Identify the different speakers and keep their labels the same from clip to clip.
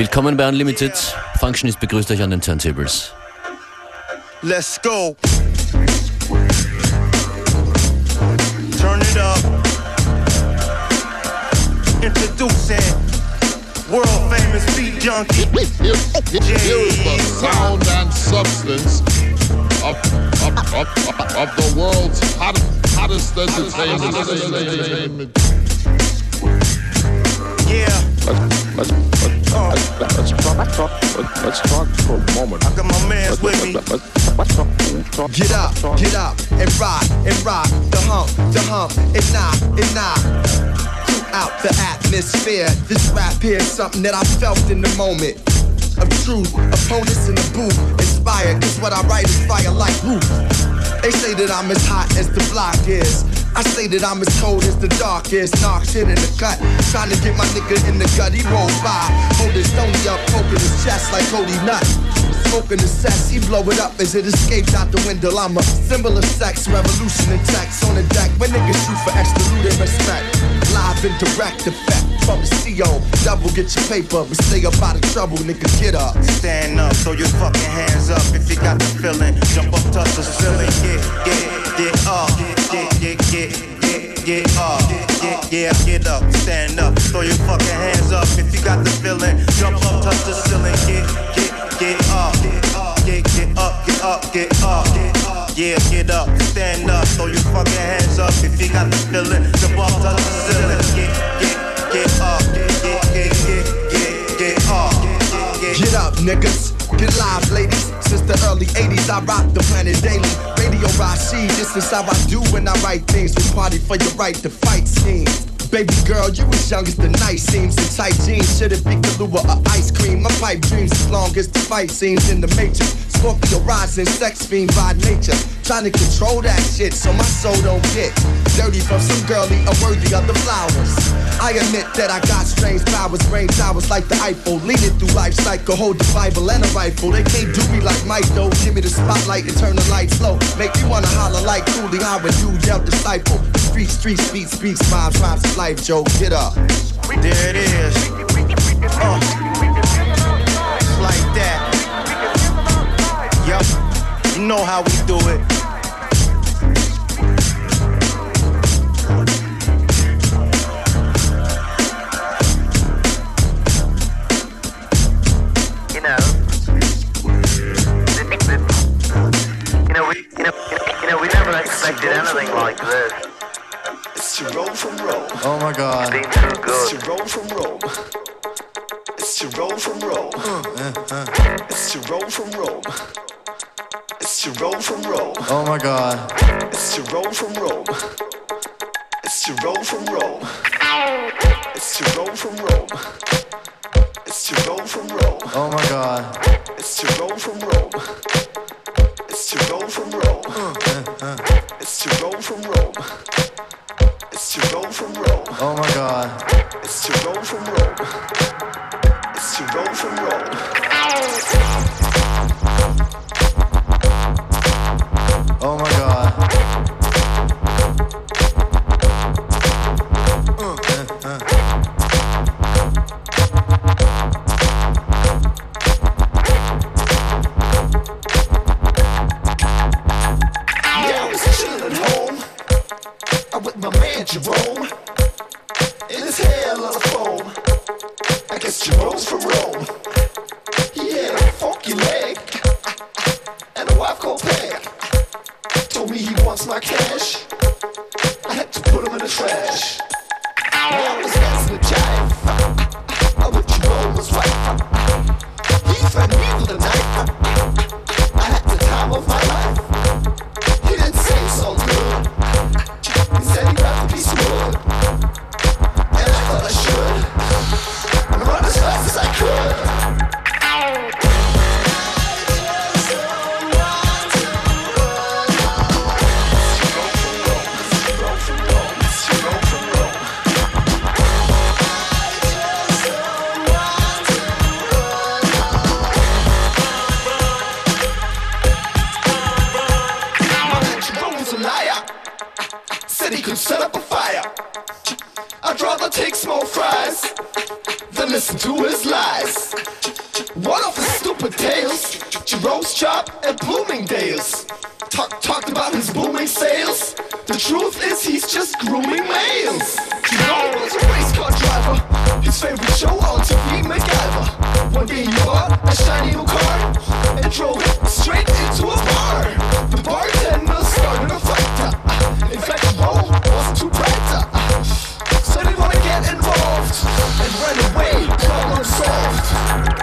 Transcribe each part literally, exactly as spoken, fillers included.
Speaker 1: Willkommen bei Unlimited. Functionist begrüßt euch an den Turntables.
Speaker 2: Let's go. Turn it up. Introducing world famous beat junkie.
Speaker 3: Here is the sound and substance of, of, of, of the world's hot, hottest entertainment.
Speaker 2: Yeah.
Speaker 4: Let's, let's, uh, let's, let's, talk, let's, talk, let's talk for a moment.
Speaker 2: I got my mans
Speaker 4: let's,
Speaker 2: with me.
Speaker 4: Let's, let's, let's talk, talk,
Speaker 5: get up,
Speaker 4: talk.
Speaker 5: get up, and rock, and rock, the hump, the hump, and knock, and knock. Throughout the atmosphere, this rap here is something that I felt in the moment of truth. Opponents in the booth, inspired, cause what I write is fire like roof. They say that I'm as hot as the block is. I say that I'm as cold as the darkest. Knocks hit in the cut, trying to get my nigga in the gut. He rolled by, holding Stony up, poking his chest like Cody Nutt. Smoking the cess, he blow it up as it escapes out the window. I'm a symbol of sex, revolution and text on the deck. When niggas shoot for absolute respect, live and direct effect from the C O. Double get your paper, but stay up out of trouble, nigga, get up.
Speaker 2: Stand up, throw your fucking hands up if you got the feeling. Jump up, touch the ceiling, get, get, get up, get, get, get, get, get up, get, yeah, get up, stand up, throw your fucking hands up if you got the feeling. Jump up, touch the ceiling, get, get, get up, get, get up, get up, get up, yeah, get up, stand up, throw your fucking hands up if you got the feeling. Jump up, touch the ceiling, get, get, get up, get, get, get, get, get up, get,
Speaker 5: Get up, niggas. Get live, ladies. Since the early eighties, I rock the planet daily. Radio Rashid, this is how I do when I write things. We party for your right to fight scenes. Baby girl, you as young as the night seems. In tight jeans, should it be Kahlua or ice cream? My pipe dreams as long as the fight scenes in the Matrix. Scorpio rising, sex fiend by nature. Trying to control that shit so my soul don't get dirty from some girlie unworthy of the flowers. I admit that I got strange powers, brain towers like the Eiffel. Leading through life cycle, hold the Bible and a rifle. They can't do me like Mike though. Give me the spotlight and turn the lights low. Make me wanna holler like Cooley Howard, you yell disciple. Street, street, speech, speaks, rhymes, rhymes of life, Joe, get up.
Speaker 2: there it is. Uh, it's like that. Yup, you know how we do it.
Speaker 6: You know, you know, we, you know, you know, we never expected anything like this.
Speaker 7: It's to roll from roll.
Speaker 8: Oh my God.
Speaker 6: It's been too
Speaker 7: It's
Speaker 6: good.
Speaker 7: to roll from roll. It's to roll from roll.
Speaker 8: Uh, uh.
Speaker 7: It's to roll from roll. It's to roll from roll.
Speaker 8: Oh my God.
Speaker 7: It's to roll from roll. It's to roll from roll. It's to roll from roll. It's to roll from roll.
Speaker 8: Oh my God.
Speaker 7: It's to roll from roll. It's to roll from roll.
Speaker 8: Uh, uh.
Speaker 7: It's to roll from roll. It's to roll from roll.
Speaker 8: Oh my God.
Speaker 7: It's to roll from roll. It's to roll from roll.
Speaker 8: Oh my God. Uh, uh, uh.
Speaker 7: Yeah, I was chillin' at home. I'm with my man Jerome. In his hair, a lot of foam. I guess Jerome's from Rome. He had a funky leg and a wife called Peg. Told me he wants my cash. I had to put him in the trash. Now I was dancing a jive. I with Jerome's wife. He threatened me with a knife. I had the time of my life. He didn't say it's all good. He said he'd rather be smooth. And I thought I should run as fast as I could. My man Jerome was a liar. Said he could set up a fire. I'd rather take small fries than listen to his lies. his favorite show on T V, MacGyver. One day he bought a shiny new car and drove it straight into a bar. The bartender started a fight. uh, In fact, the roll was too bright. uh, So they wanna get involved and run away, problem solved.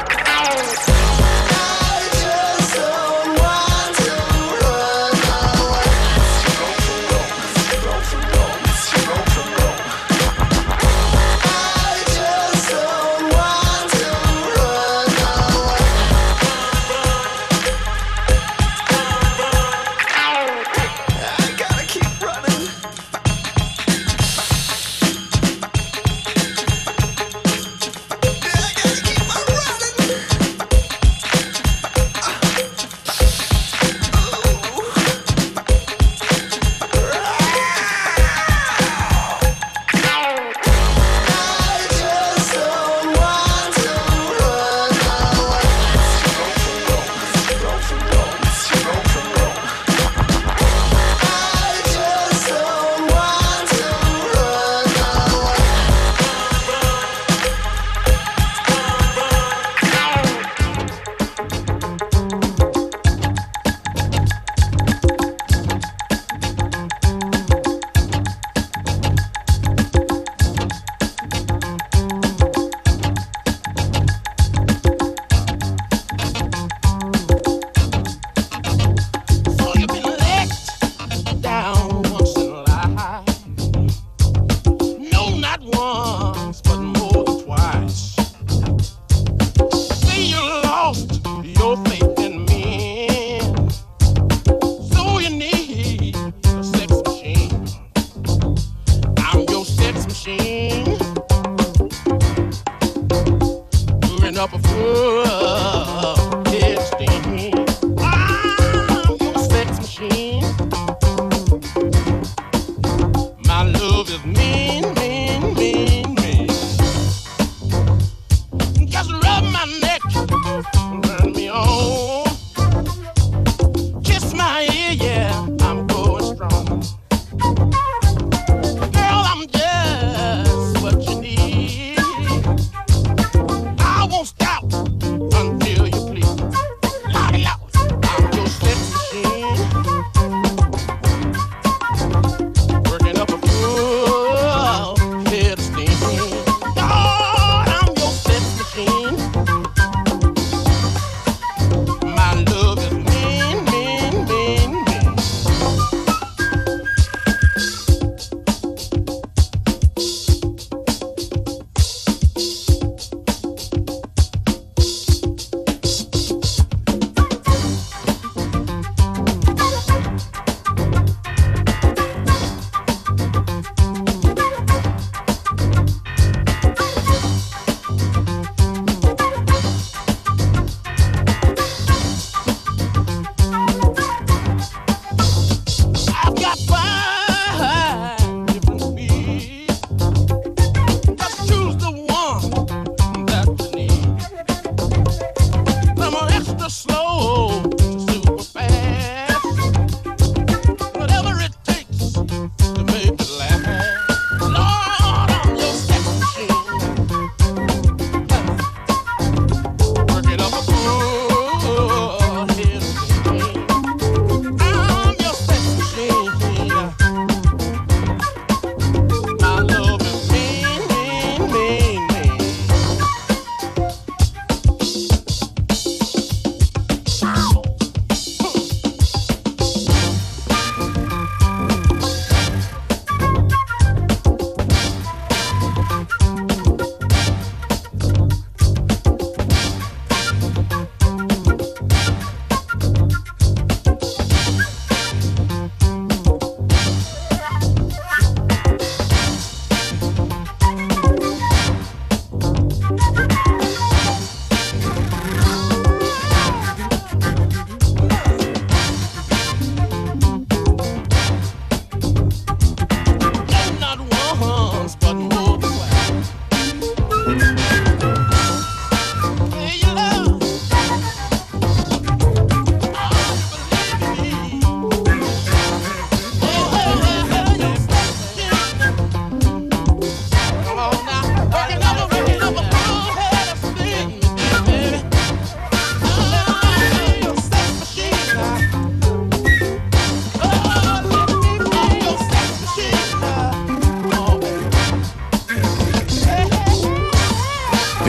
Speaker 9: Stop.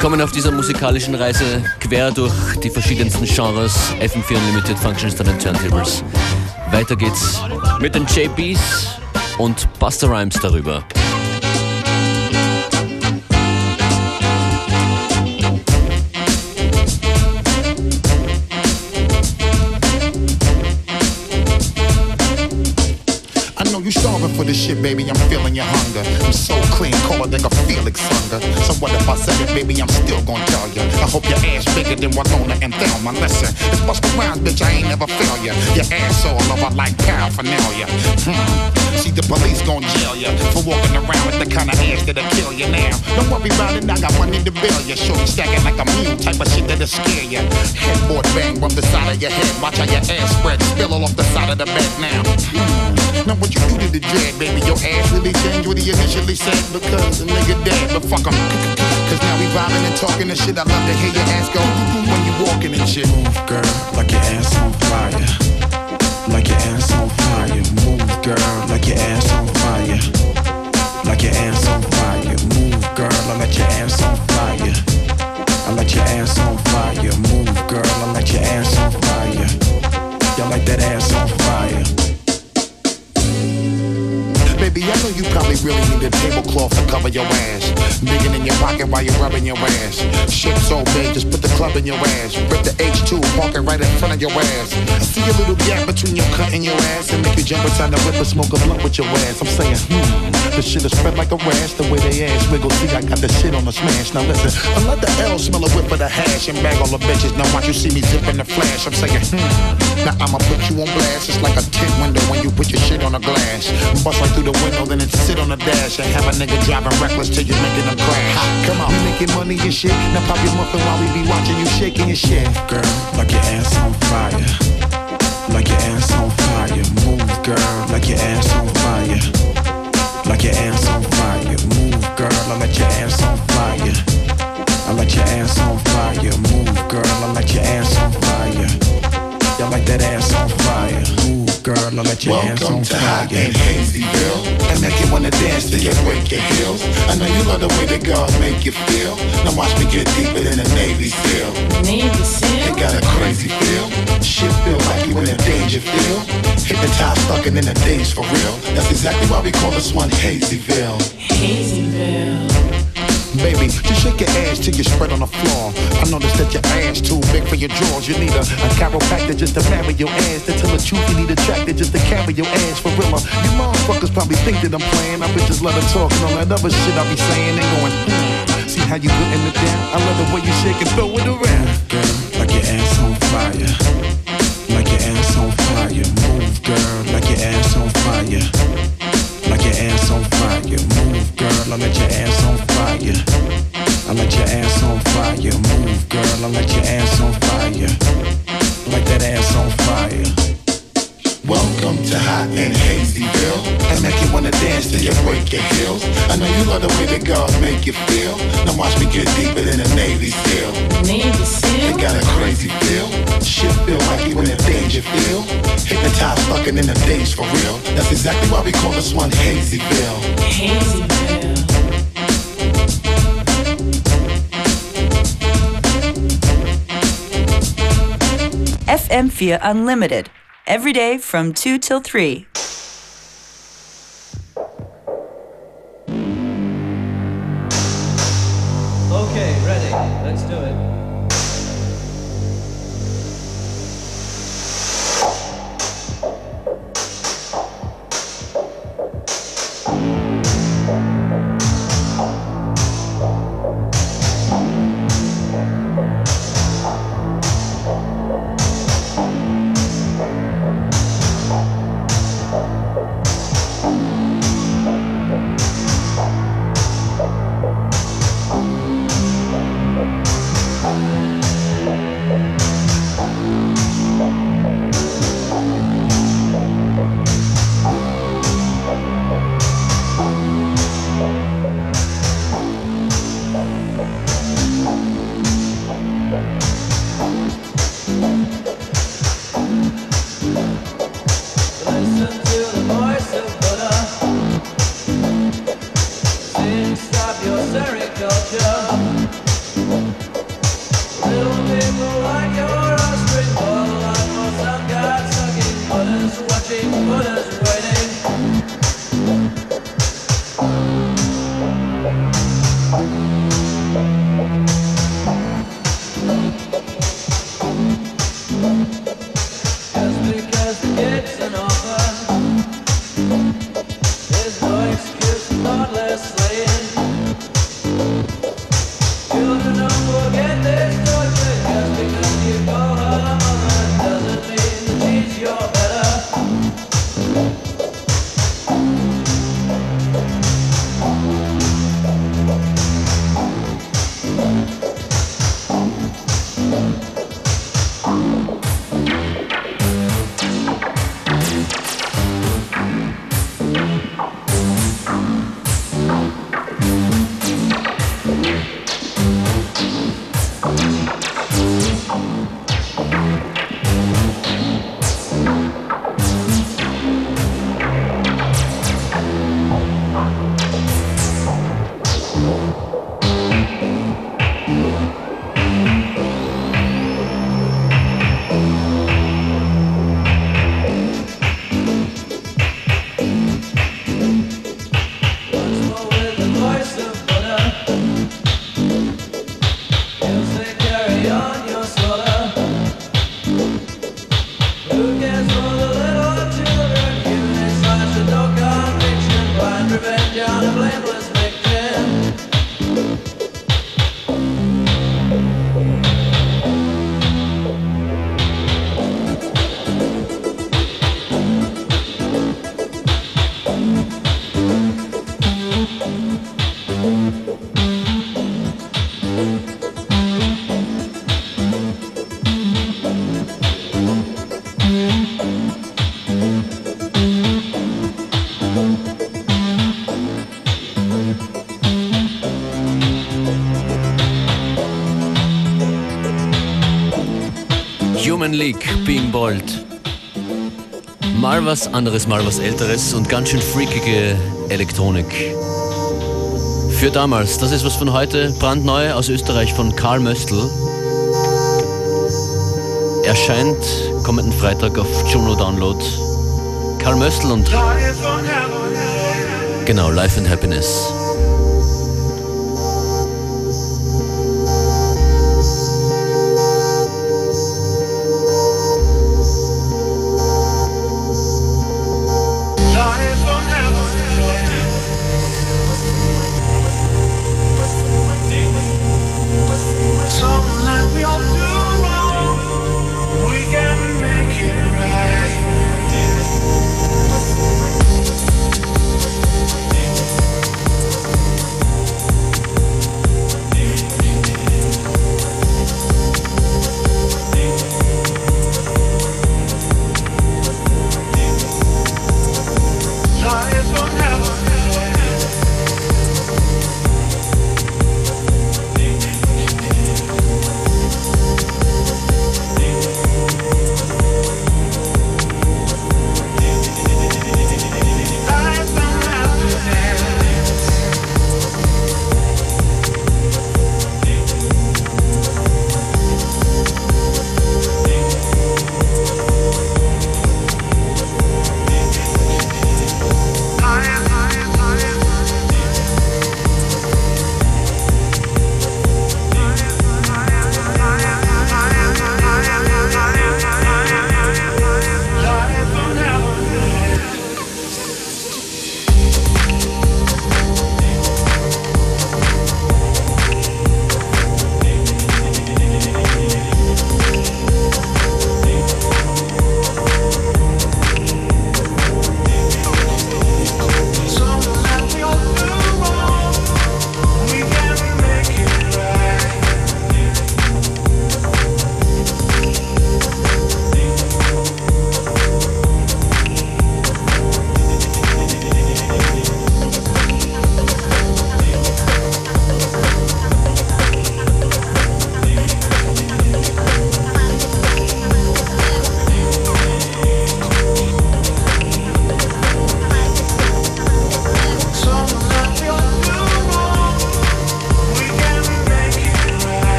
Speaker 1: Kommen auf dieser musikalischen Reise quer durch die verschiedensten Genres. F M vier Unlimited, Functionist an den Turntables. Weiter geht's mit den J Bs und Busta Rhymes darüber.
Speaker 9: Starving for this shit, baby, I'm feeling your hunger. I'm so clean, colder than a Felix hunger. So what if I said it, baby, I'm still gonna tell ya. I hope your ass bigger than Winona and Thelma. Listen, it's Busta Rhymes, bitch, I ain't never fail ya. Your ass all over like paraphernalia. Hmm. See, the police gon' jail ya for walking around with the kind of ass that'll kill ya now. Don't worry about it, I got money to bill ya. Shorty stacking like a mule, type of shit that'll scare ya. Headboard bang from the side of your head. Watch how your ass spread, spill all off the side of the bed now. Hmm. Now what you do to the dread, baby, your ass really changed what he initially said. Because the nigga dead, but fuck him. Cause now we vibing and talking and shit. I love to hear your ass go when you walking and shit.
Speaker 5: Move, girl, like your ass on fire. Like your ass on fire. Move, girl, like your ass on fire. Like your ass on fire. Move, girl, I let your ass on fire. I let your ass on fire. Move, girl, I let your ass on fire. Y'all like that ass on fire.
Speaker 9: Baby, I know you probably really need a tablecloth to cover your ass. Digging in your pocket while you're rubbing your ass. Shit so big, just put the club in your ass. Rip the H two, park it right in front of your ass. See a little gap between your cut and your ass, and make you jump inside the whip and smoke a blunt with your ass. I'm saying, hmm, the shit is spread like a rash. The way they ass wiggle, see I got the shit on the smash. Now listen, I let the L smell a whip of the hash and bag all the bitches. Now watch you see me zip in the flash. I'm saying, hmm, now I'ma put you on blast. It's like a tint window when you put your shit on a glass. Bust right through the window, then it sit on the dash and have a nigga driving reckless till you're making them crash. Ha, come on, you making money and shit. Now pop your muffin while we be watching you shaking your shit.
Speaker 5: Girl, like your ass on fire. Like your ass on fire. Move, girl, like your ass on fire. Like your ass on fire. Move, girl, I let your ass on fire. I let your ass on fire. Move, girl, I let your ass on fire. Y'all like that ass on fire. Move, girl, I let your ass on
Speaker 9: Welcome to
Speaker 5: fire.
Speaker 9: Hot and Hazyville. I make you wanna dance till you break your heels. I know you love the way that God make you feel. Now watch me get deeper than a Navy SEAL.
Speaker 10: Navy SEAL?
Speaker 9: It got a crazy feel. Shit feel like you in a danger feel. Hypnotized, stuck in the days for real. That's exactly why we call this one Hazyville.
Speaker 10: Hazyville.
Speaker 9: Baby, just shake your ass till you spread on the floor. I noticed that your ass too big for your drawers. You need a, a chiropractor just to marry your ass. To tell the truth, you need a tractor just to carry your ass for real. You motherfuckers probably think that I'm playing. I bitches let her talk and all that other shit I be saying. They going, hmm, see how you putting it down? I love the way you shake and throw it around.
Speaker 5: Girl, like your ass on fire. Like your ass on fire. Move, girl, like your ass on fire. Like your ass on fire. Move, girl, I let your ass on fire. I let your ass on fire. Move, girl, I let your ass on fire. Like that ass on fire.
Speaker 9: Welcome to Hot and Hazyville. I make you wanna dance till you break your heels. I know you love the way that God make you feel. Now watch me get deeper than a Navy SEAL.
Speaker 10: Navy SEAL?
Speaker 9: It got a crazy feel. Shit feel like you in a danger feel. Hypnotized, fucking in the days for real. That's exactly why we call this one Hazyville.
Speaker 10: Hazyville.
Speaker 11: F M four Unlimited. Every day from two till three.
Speaker 12: Okay, ready. Let's do it.
Speaker 1: Human League, Being Bold. Mal was anderes, mal was Älteres und ganz schön freakige Elektronik. Für damals, das ist was von heute, brandneu aus Österreich von Karl Möstl. Erscheint kommenden Freitag auf Juno Download. Karl Möstl und... Genau, Life and Happiness.
Speaker 13: Right.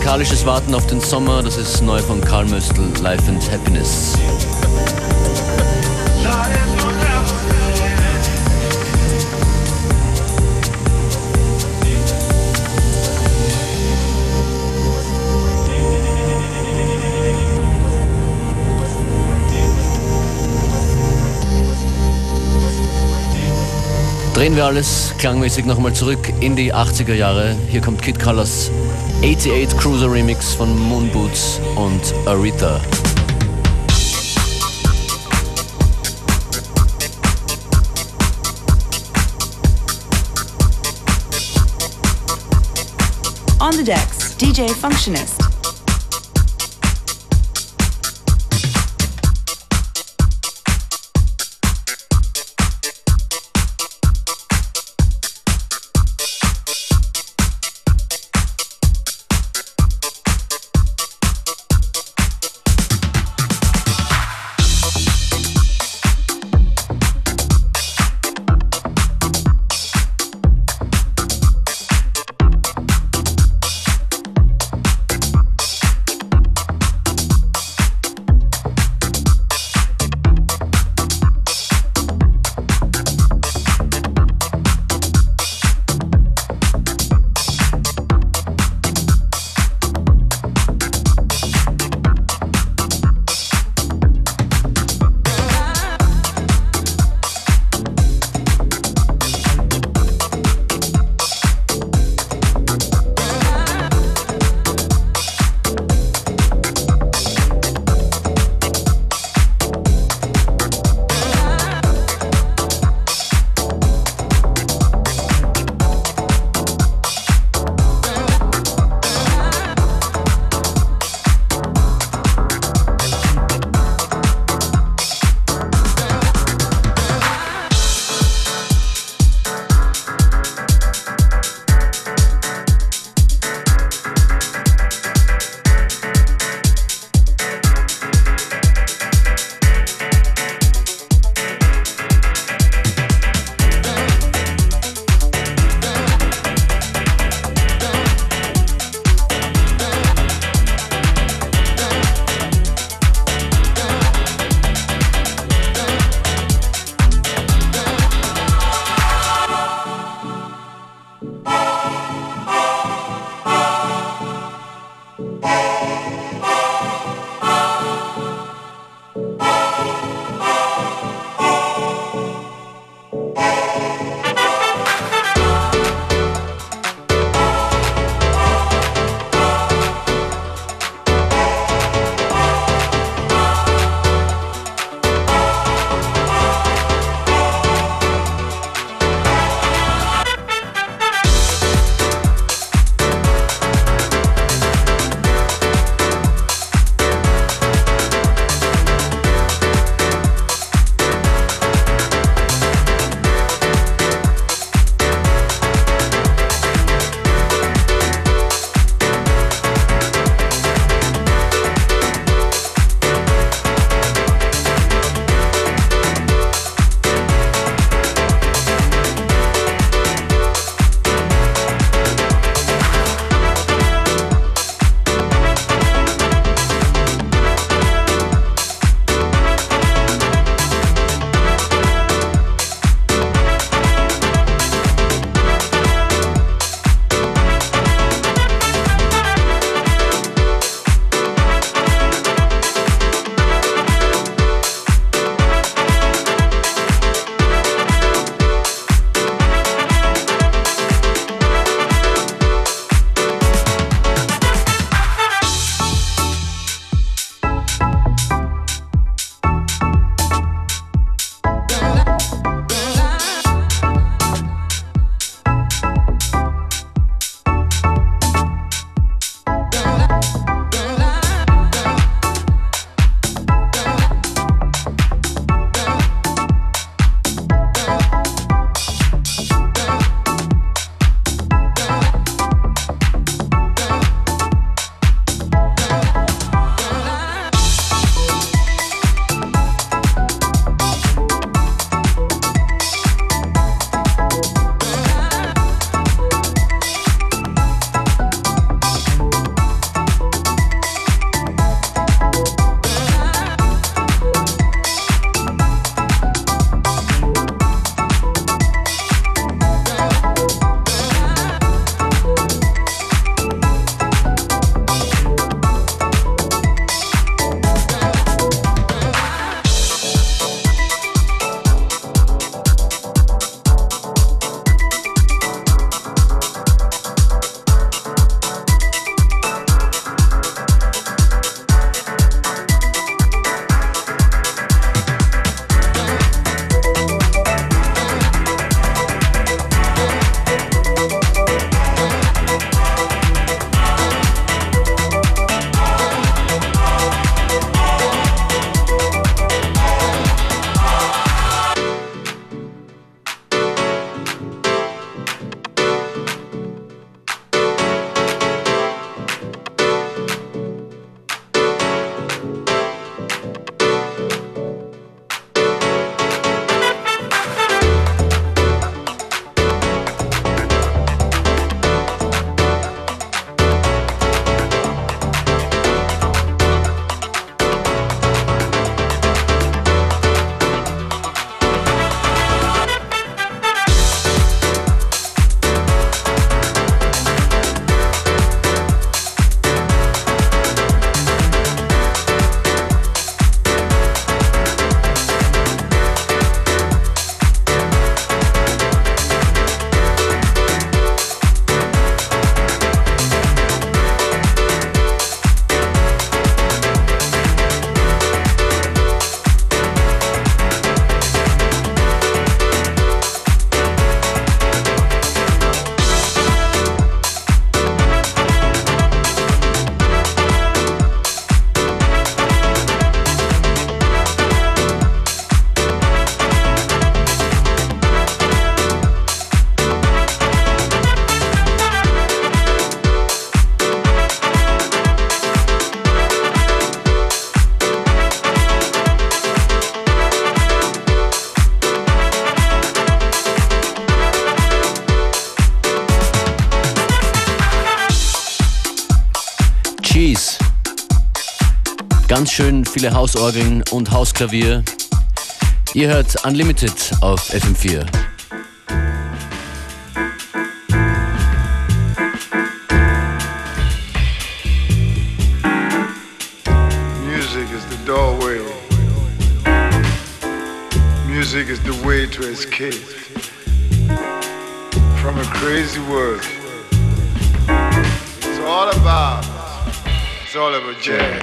Speaker 1: Musikalisches Warten auf den Sommer, das ist neu von Karl Möstl, Life and Happiness. Drehen wir alles klangmäßig nochmal zurück in die achtziger Jahre. Hier kommt Kid Colors achtundachtzig Cruiser Remix von Moon Boots und Aretha.
Speaker 11: On the decks, D J Functionist.
Speaker 1: Ganz schön viele Hausorgeln und Hausklavier. Ihr hört Unlimited auf F M vier.
Speaker 13: Music is the doorway. Music is the way to escape from a crazy world. It's all about, it's all about jazz.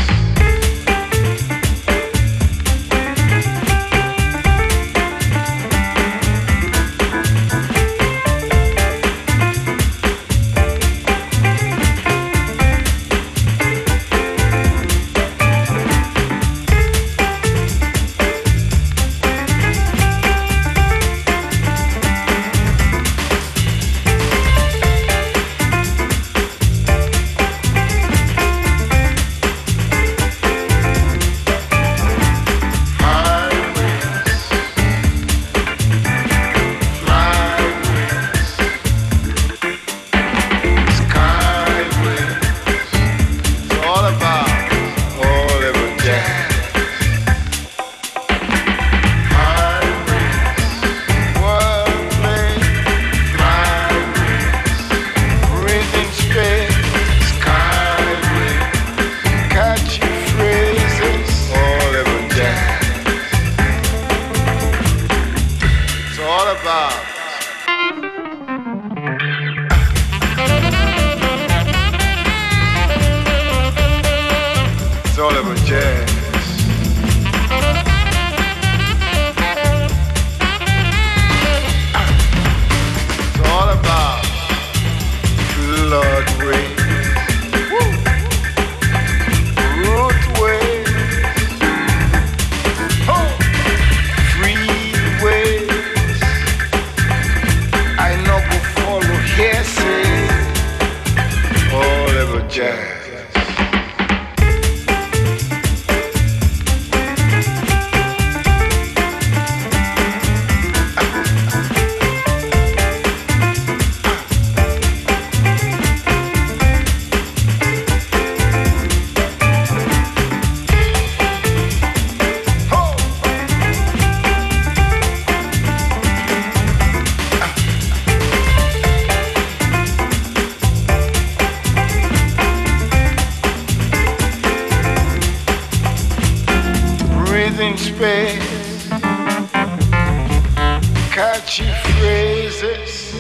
Speaker 13: Catchy phrases,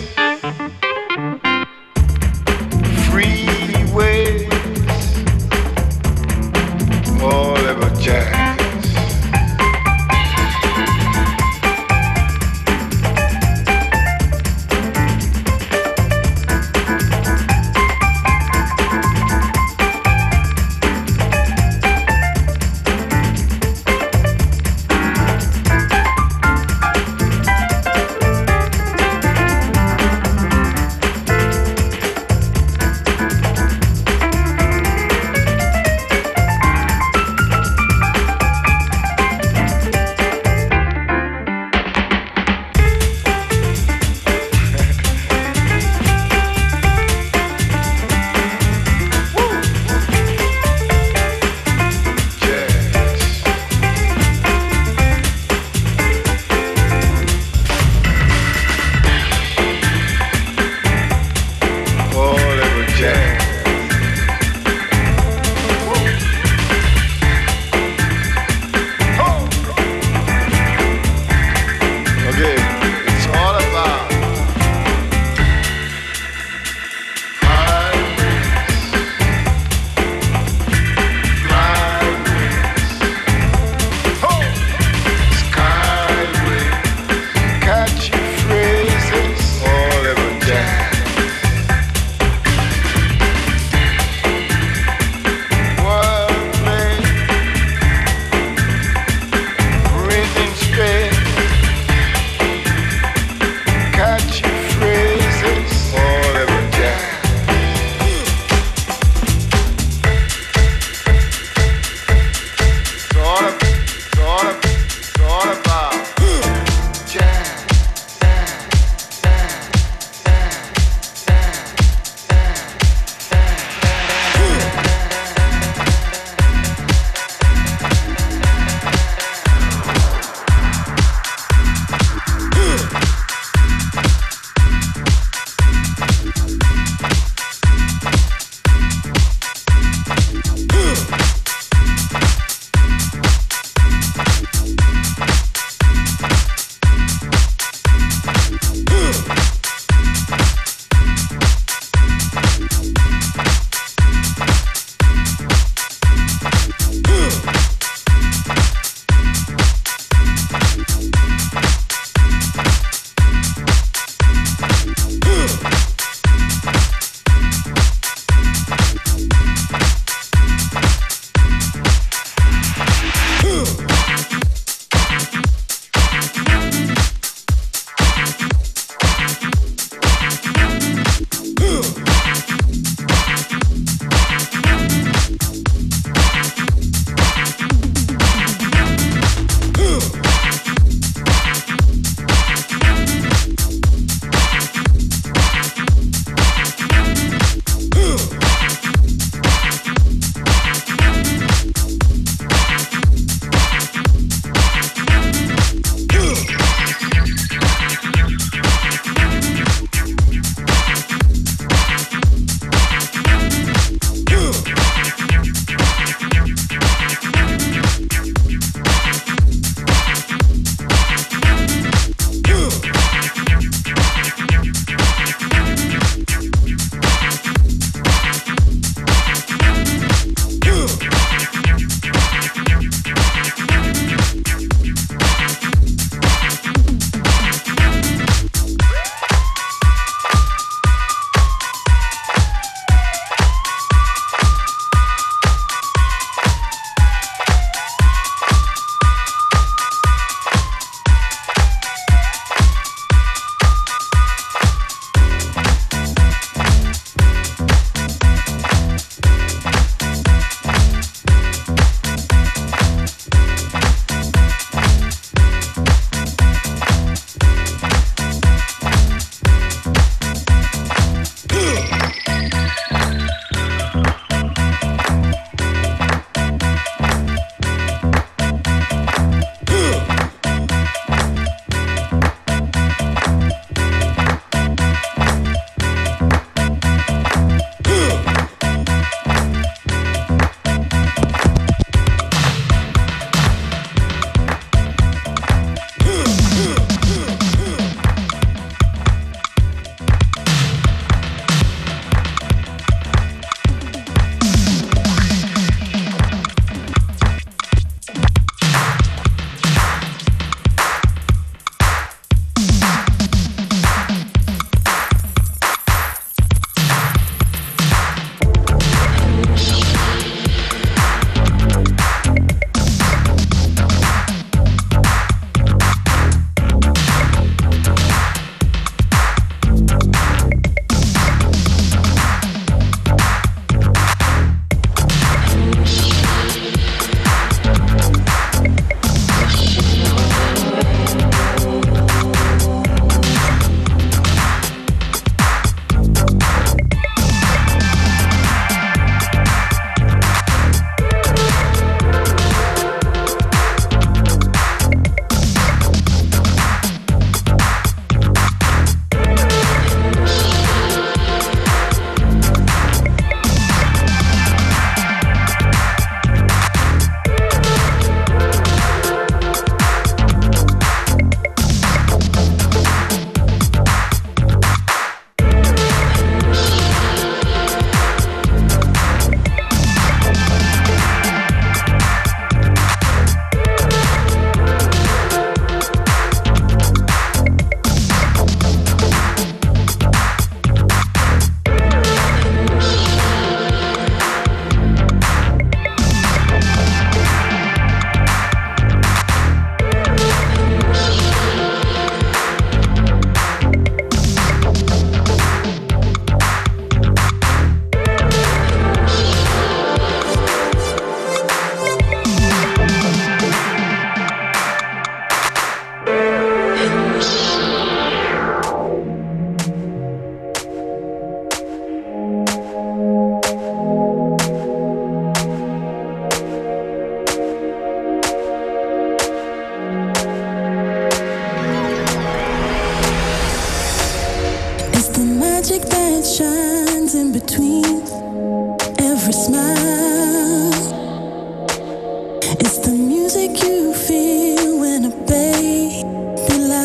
Speaker 13: freeways, all about jazz.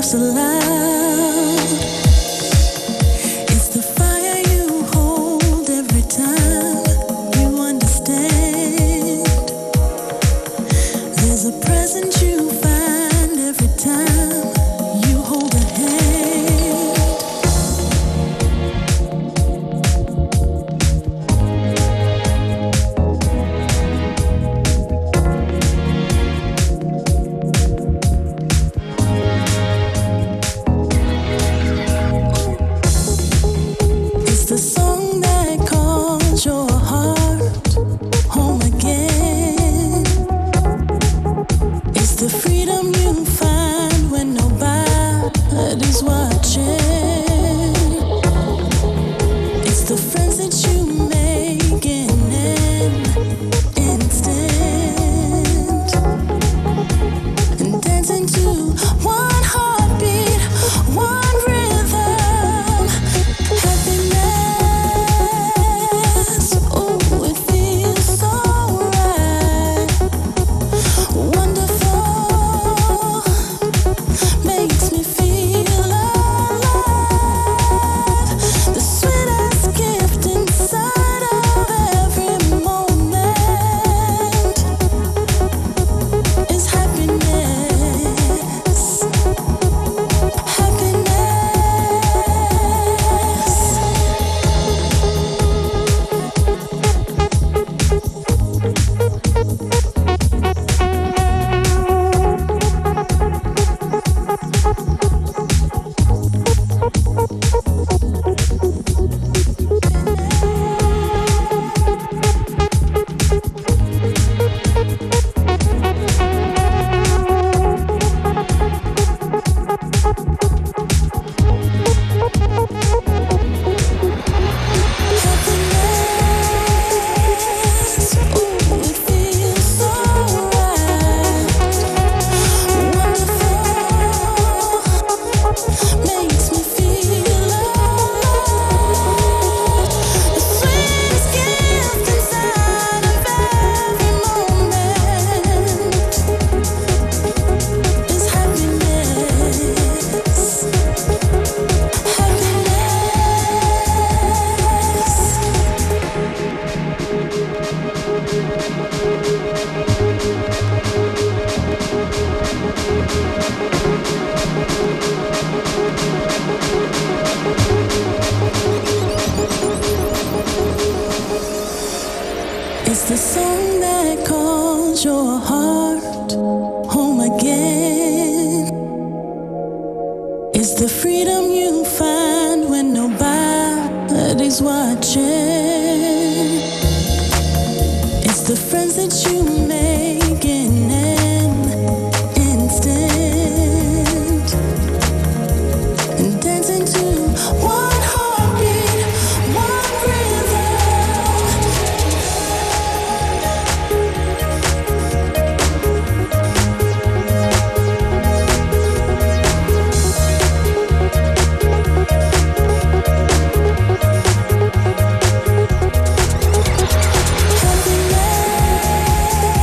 Speaker 14: laughs aloud. It's the fire you hold every time you understand. There's a present you find every time you hold a hand. It's the song that calls your heart home again. It's the freedom you find when nobody's watching. It's the friends that you make in an instant. And dancing to one heartbeat, one rhythm. Happiness, oh, it feels so right. Wonderful, makes me feel alive. The sweetest gift inside of every moment is happiness. Happiness. It's the song that calls your heart home again. It's the freedom you find when nobody's watching. It's the friends that you make in an instant. And dancing to one heartbeat, one rhythm. Happiness.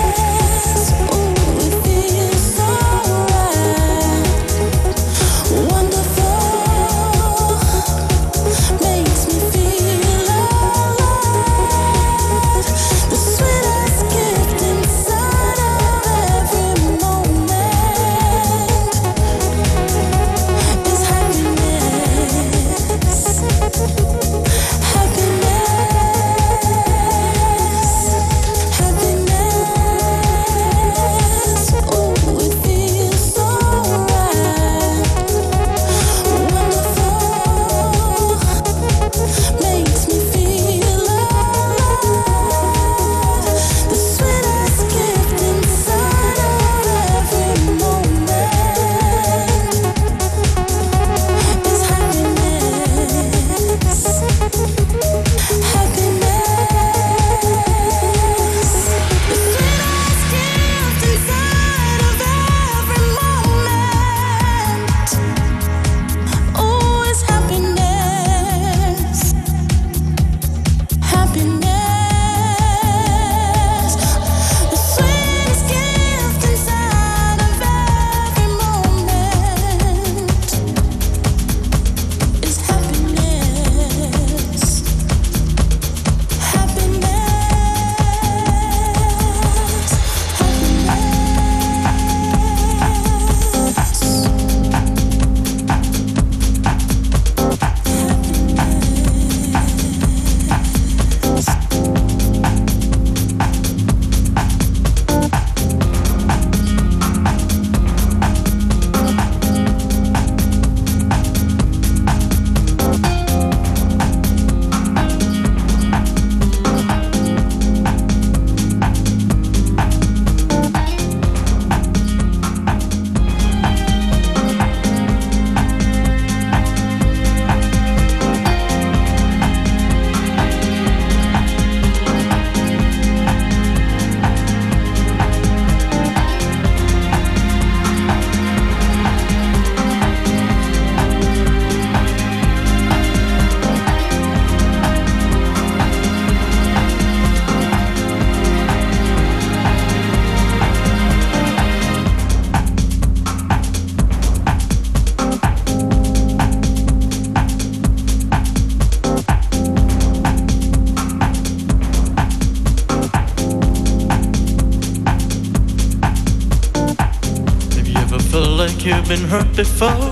Speaker 15: like you've been hurt before.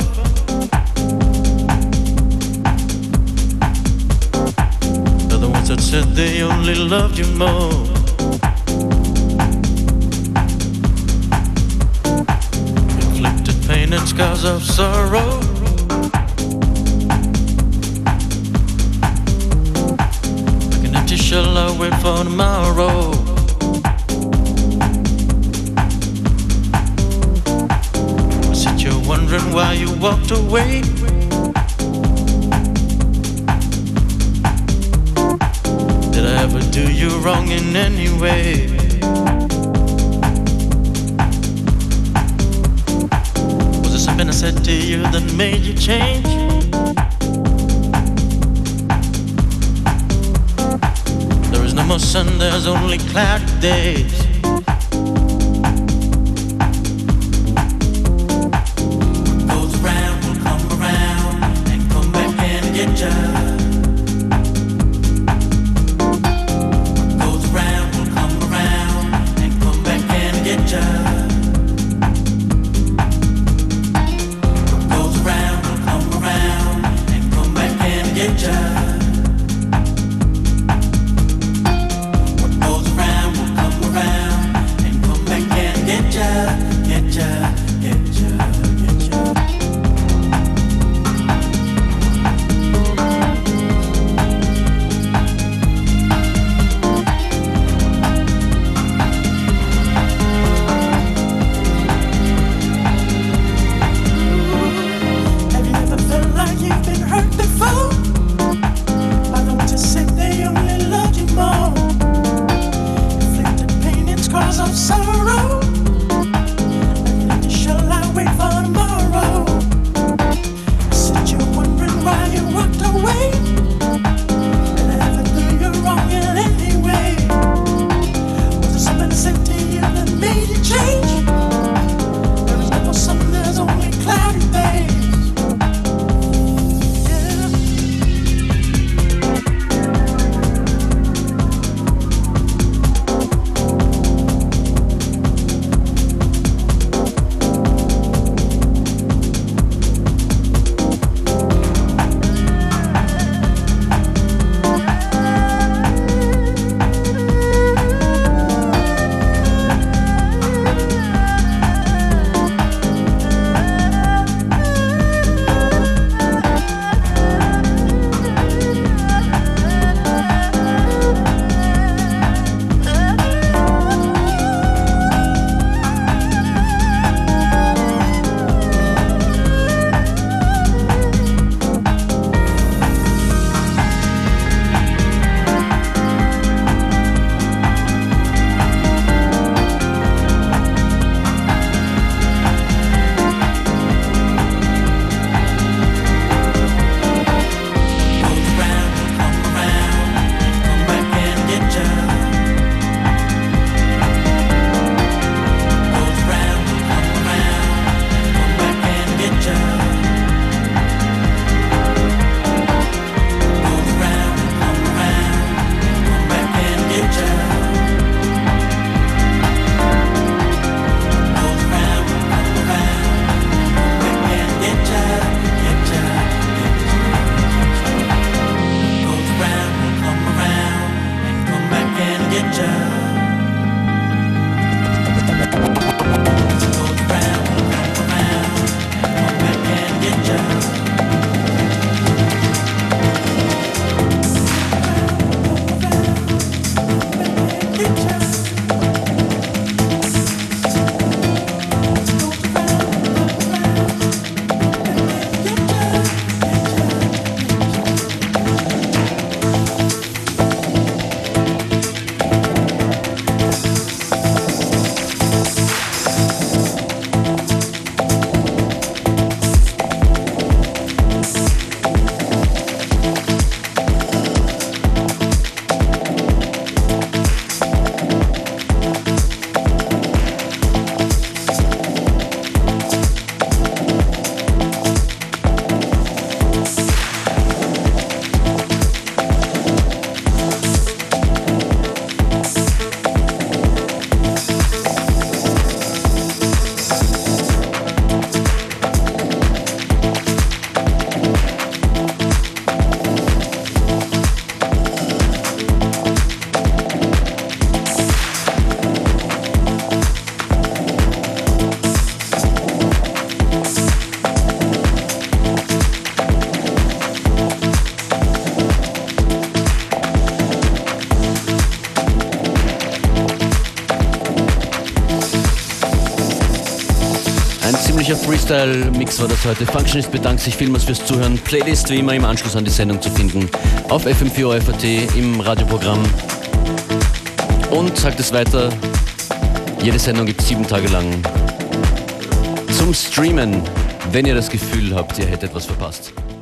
Speaker 15: They're the ones that said they only loved you more. Inflicted pain and scars of sorrow. Like an empty shell, I wait for tomorrow. You're wondering why you walked away. Did I ever do you wrong in any way? Was there something I said to you that made you change? There is no more sun, there's only cloudy days.
Speaker 10: What goes around will come around.
Speaker 1: Freestyle-Mix war das heute. Functionist bedankt sich vielmals fürs Zuhören. Playlist wie immer im Anschluss an die Sendung zu finden auf F M vier O F A T im Radioprogramm. Und sagt es weiter, jede Sendung gibt es sieben Tage lang zum Streamen, wenn ihr das Gefühl habt, ihr hättet etwas verpasst.